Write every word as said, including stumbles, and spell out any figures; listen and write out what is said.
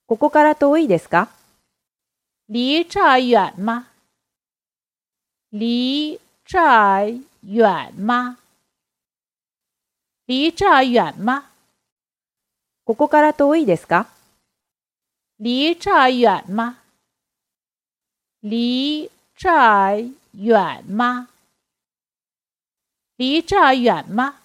ここから遠いですか？ 离这儿远吗？离这儿远吗？离这儿远吗？ ここから遠いですか？ 离这儿远吗？离这儿远吗？离这儿远吗？